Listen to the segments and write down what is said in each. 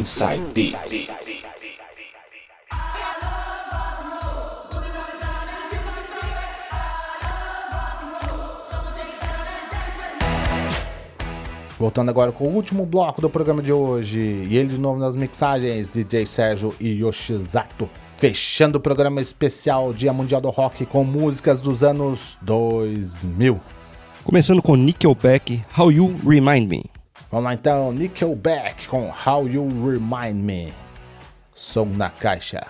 Inside Beats. Voltando agora com o último bloco do programa de hoje. E ele de novo nas mixagens, DJ Sérgio e Yoshizato. Fechando o programa especial Dia Mundial do Rock com músicas dos anos 2000. Começando com Nickelback, How You Remind Me. Vamos lá então, Nickelback com How You Remind Me. Som na caixa.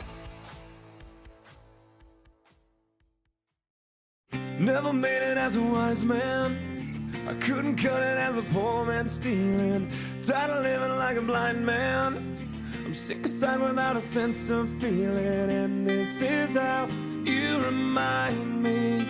Never made it as a wise man. I couldn't cut it as a poor man stealing. Tired of living like a blind man. I'm sick aside without a sense of feeling. And this is how you remind me.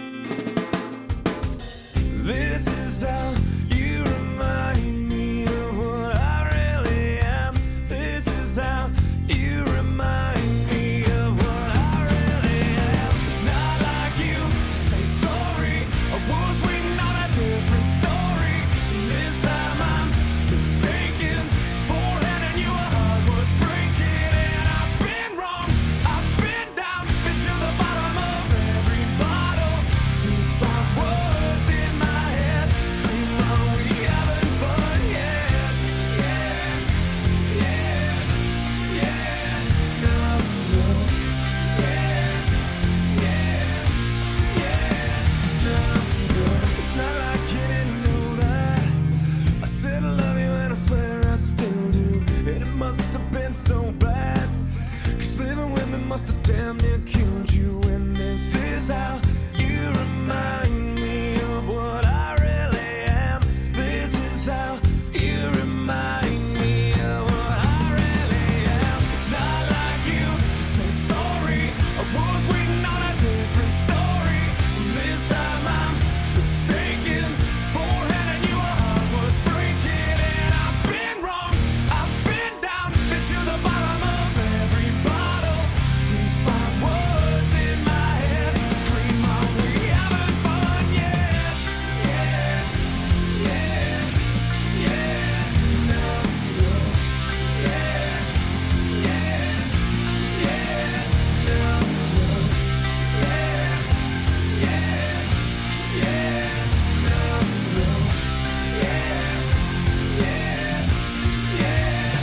This is how you remind me of what I really am. This is how you remind me of what I really am. It's not like you to say sorry. I was waiting on a different story. And this time I'm mistaken for handing you a heart worth breaking. And I've been wrong, I've been down, been to the bottom of every bottle. These 5 words in my head scream, are we having fun yet? Yeah, yeah, yeah, no, no, yeah, yeah, yeah, no, no. It's not like you didn't know that I said I love you and I swear I still do. And it must have been so bad, 'cause living with me must have damn near killed you. And this is how you remind me of what I really am. This is how you remind me of what I really am. It's not like you to say sorry. I was waiting on a different story. And this time I'm mistaken for handing you a heart worth breaking. And I've been wrong, I've been down, been to the bottom of every bottle. These 5 words in my head scream, are we having fun yet? Yeah, yeah, yeah, no, no, yeah, yeah, yeah, no, no, yeah, yeah, yeah, no, no, yeah, yeah, yeah,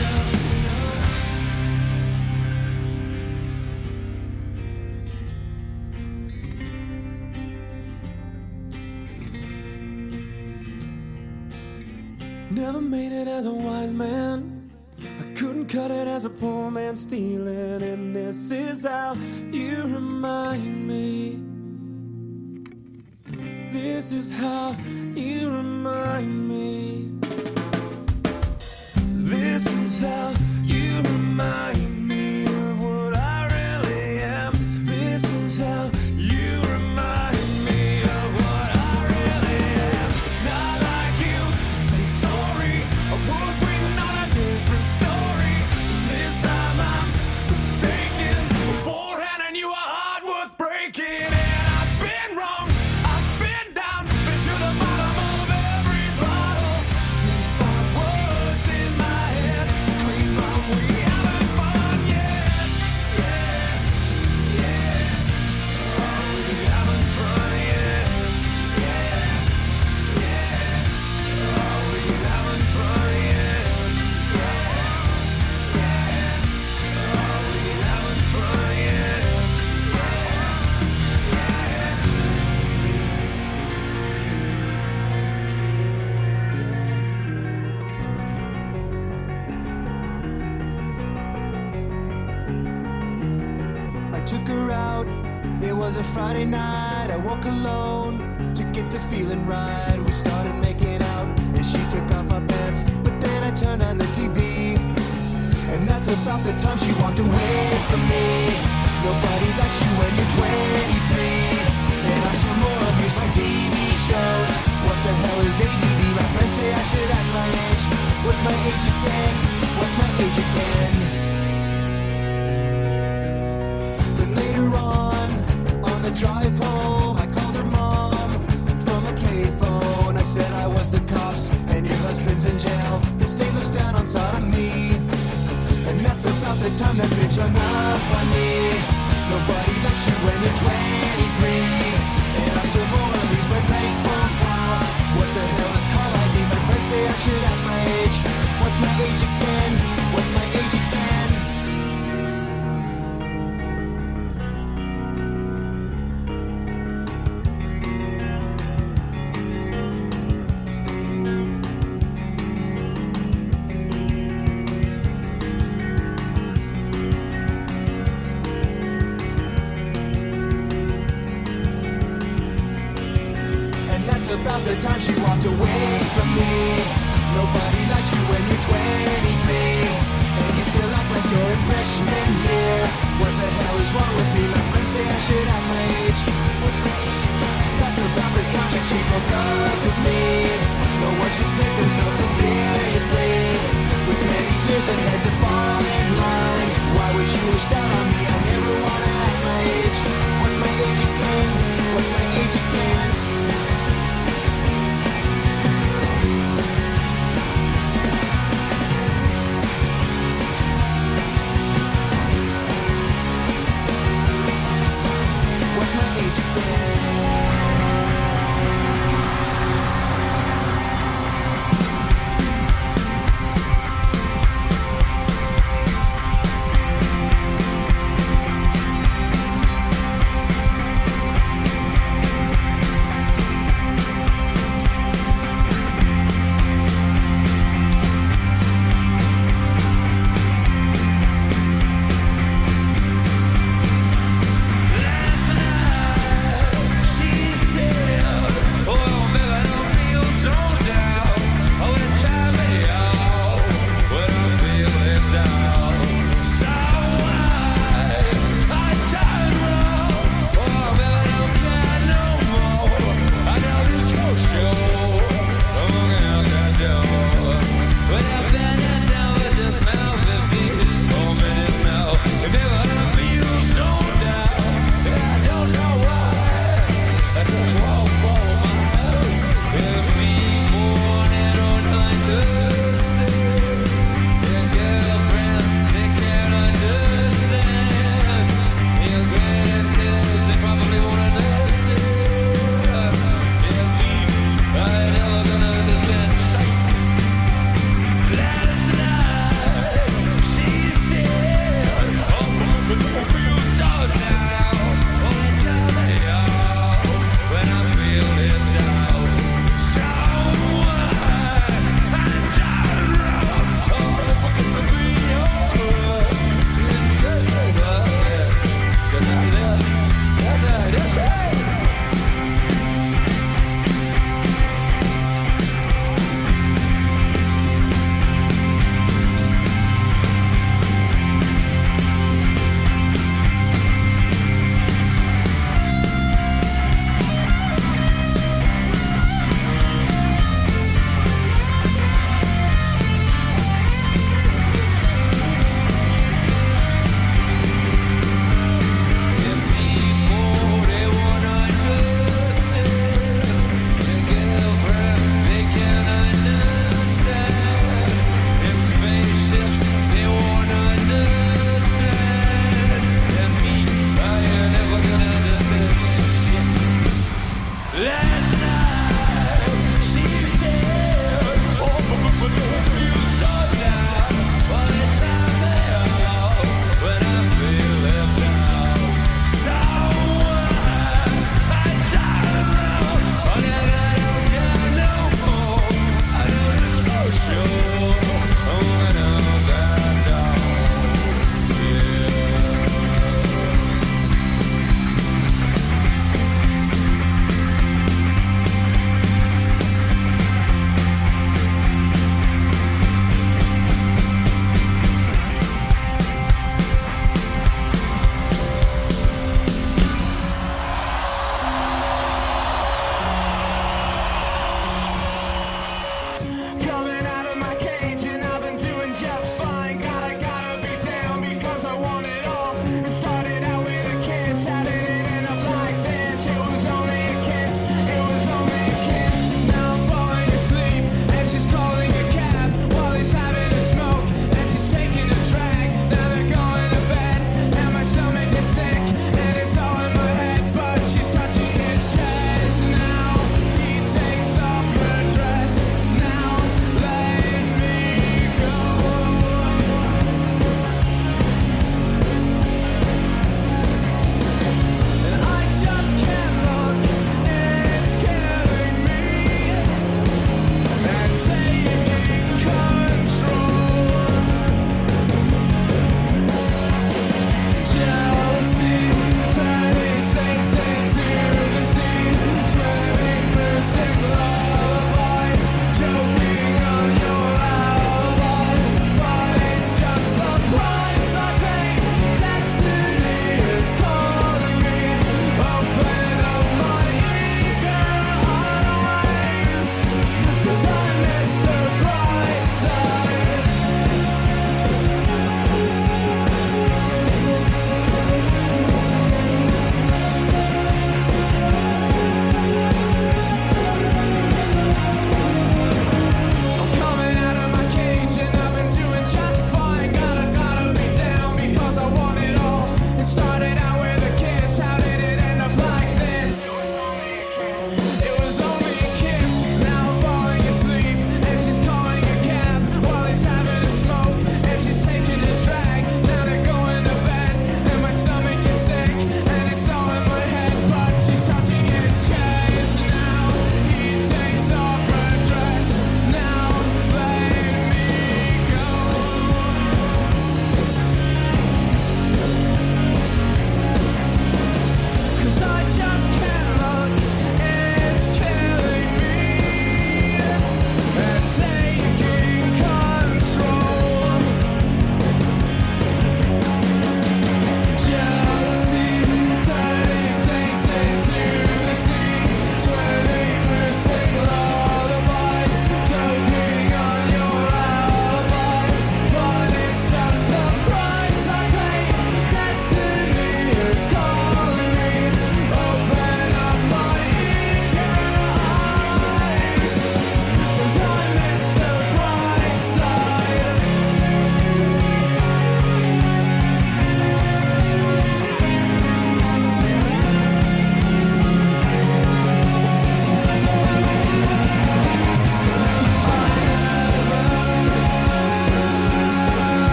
Never made it as a wise man. I couldn't cut it as a poor man stealing. And this is how you remind me. This is how you remind me. This is how you remind me of what I really am. This is how you remind me of what I really am. It's not like you to say sorry. I was waiting on a different story. And this time I'm mistaken for handing you a heart worth breaking. And I've been wrong, I've been down, been to the bottom of every bottle. These 5 words in my head scream, are we having fun yet? Yeah, yeah, are we having fun yet? Yeah, yeah, are we having fun yet? Yeah, yeah, are we having fun yet? I took her out, it was a Friday night. I woke alone to get the feeling right. We started making out and she took off my pants, but then I turned on the TV. And that's about the time she walked away from me. Nobody likes you when you're 23. And I still more abuse my TV shows. What the hell is ADD? My friends say I should act my age. What's my age again? What's my age again? Then later on the drive home, I called her mom from a payphone. I said I was the cops and your husband's in jail. The state looks down on sodomy. about the time that bitch hung up on me. Nobody likes you when you're 23. And I still wanna lose my bank phone calls. What the hell is call ID? My friends say I should have my age. What's my age again? What's my age again? About the time she walked away from me. Nobody likes you when you're 23. And you still act like you're in freshman year. What the hell is wrong with me? My friends say I should have my age. What's my age? That's about the time that she broke up with me. No one should take themselves so seriously. With many years ahead to fall in line. Why would you wish that on me? I never wanna have my age. What's my age again? What's my age again?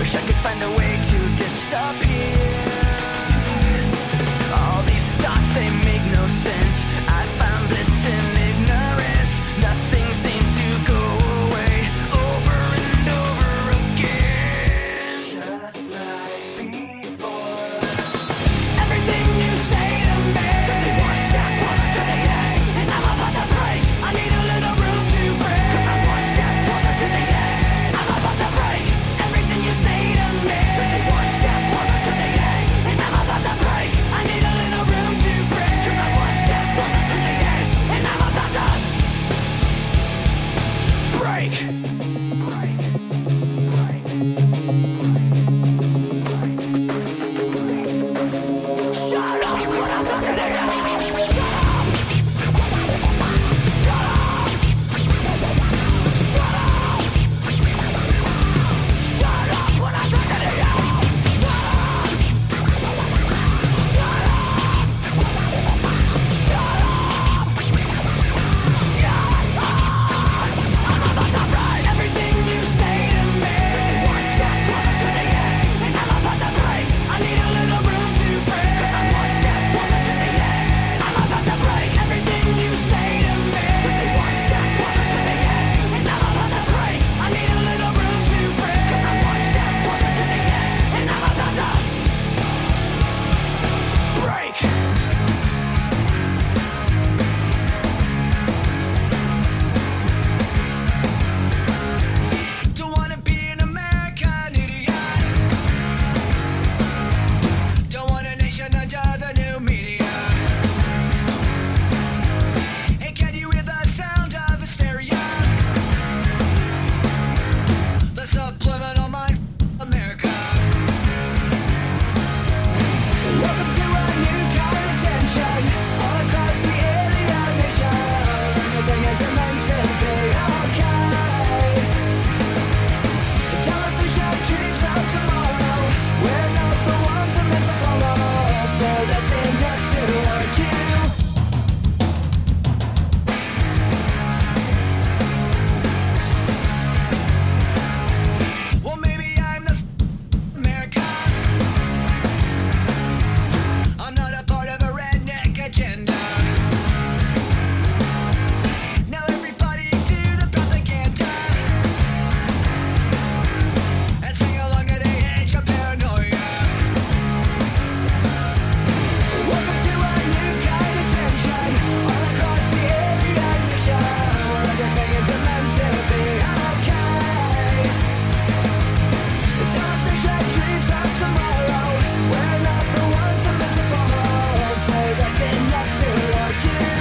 Wish I could find a way to disappear. All these thoughts, they make no sense. I found bliss in ignorance. Nothing seems to go away over and over again. Just like before. Everything you say to me takes me one step closer to the edge, and I'm about to break. I need a little room to breathe, 'cause I'm one step closer to the edge. I'm about to break. Everything you say to me takes me one step closer to the edge, and I'm about to break. I need a little room to breathe, 'cause I'm one step closer to the edge, and I'm about to break. Shut up when I'm talking to you. Shut up. Shut up. Shut up. Shut up when I'm talking to you. Shut up. Shut up. Shut up. Shut up. I'm about to break. Everything you say to me takes me one step closer to the edge, and I'm about to break. I need a little room to breathe, 'cause I'm one step closer to the edge. I'm about to break. Everything you say to me takes me one step closer to the edge, and I'm about to break. I need a little room to breathe, 'cause I'm one step closer to the edge, and I'm about to break. Don't wanna be an American idiot. Don't want a nation under the new media. Hey, can you hear the sound of hysteria? The subliminal mind, America. Welcome to a new kind of tension all across the alien nation. Everything isn't meant to be okay. Television dreams of tomorrow. We're not the ones I'm meant to follow, but that's enough to argue. Well, maybe I'm the America. I'm not a part of a redneck agenda. Now everybody to the propaganda and sing along at the edge of paranoia. Welcome to a new kind of tension all across the alien nation, where everything is meant to be okay. Television dreams of tomorrow. We're not the ones I'm meant to follow, but that's enough to argue.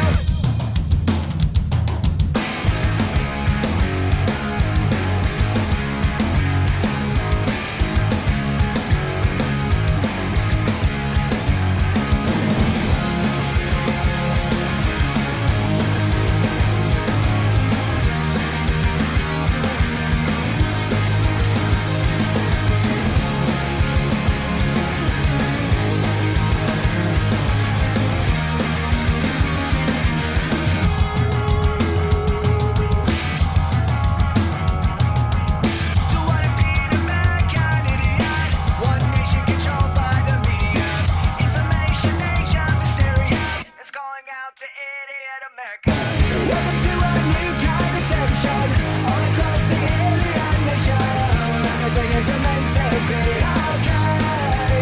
Don't wanna be an American idiot. One nation controlled by the media. Information age of hysteria is going out to idiot America. Welcome to a new kind of tension all across the alien nation. Everything is meant to be okay.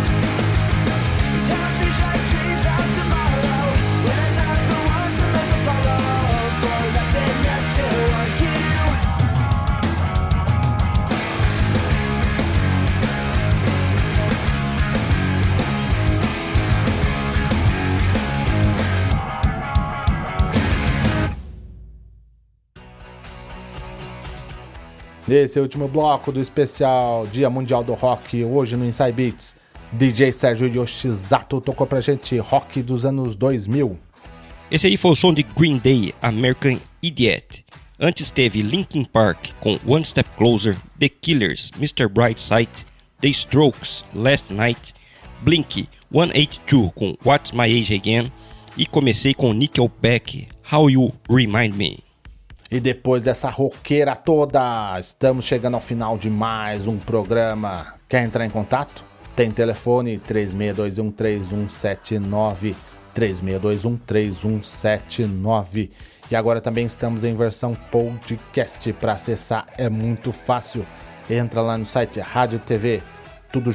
Television dreams of tomorrow. We're not the ones I'm meant to follow, but that's enough to argue. Nesse último bloco do especial Dia Mundial do Rock, hoje no Inside Beats, DJ Sérgio Yoshizato tocou pra gente rock dos anos 2000. Esse aí foi o som de Green Day, American Idiot. Antes teve Linkin Park com One Step Closer, The Killers, Mr. Brightside, The Strokes, Last Night, Blink 182 com What's My Age Again e comecei com Nickelback, How You Remind Me. E depois dessa roqueira toda, estamos chegando ao final de mais um programa. Quer entrar em contato? Tem telefone 36213179, 36213179. E agora também estamos em versão podcast. Para acessar é muito fácil. Entra lá no site Rádio TV, tudo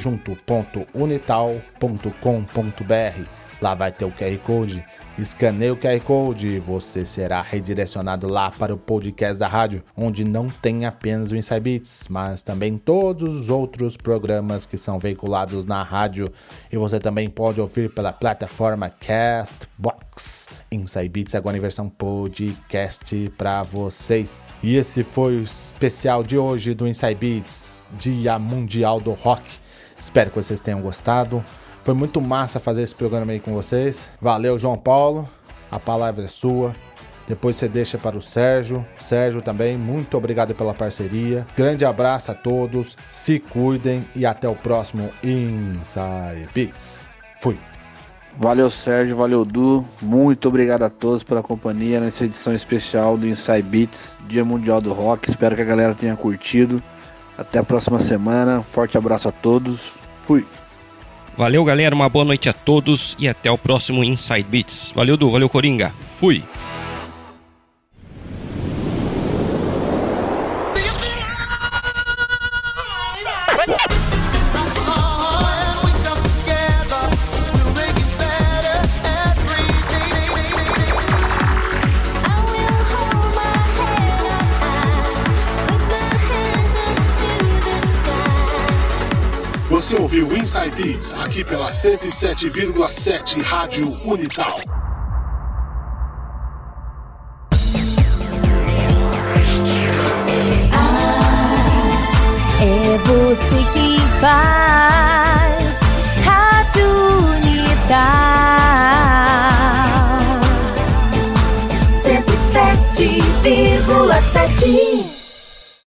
junto.unital.com.br. Lá vai ter o QR Code. Escaneie o QR Code e você será redirecionado lá para o podcast da rádio, onde não tem apenas o Inside Beats, mas também todos os outros programas que são veiculados na rádio. E você também pode ouvir pela plataforma Castbox. Inside Beats agora em versão podcast para vocês. E esse foi o especial de hoje do Inside Beats, Dia Mundial do Rock. Espero que vocês tenham gostado. Foi muito massa fazer esse programa aí com vocês. Valeu, João Paulo. A palavra é sua. Depois você deixa para o Sérgio. Sérgio também, muito obrigado pela parceria. Grande abraço a todos. Se cuidem e até o próximo Inside Beats. Fui. Valeu, Sérgio. Valeu, Du. Muito obrigado a todos pela companhia nessa edição especial do Inside Beats, Dia Mundial do Rock. Espero que a galera tenha curtido. Até a próxima semana. Forte abraço a todos. Fui. Valeu, galera, uma boa noite a todos e até o próximo Inside Beats. Valeu, Du, valeu, Coringa. Fui! Você ouviu Inside Beats aqui pela 107,7 Rádio Unital. É você que faz Rádio Unital 107,7.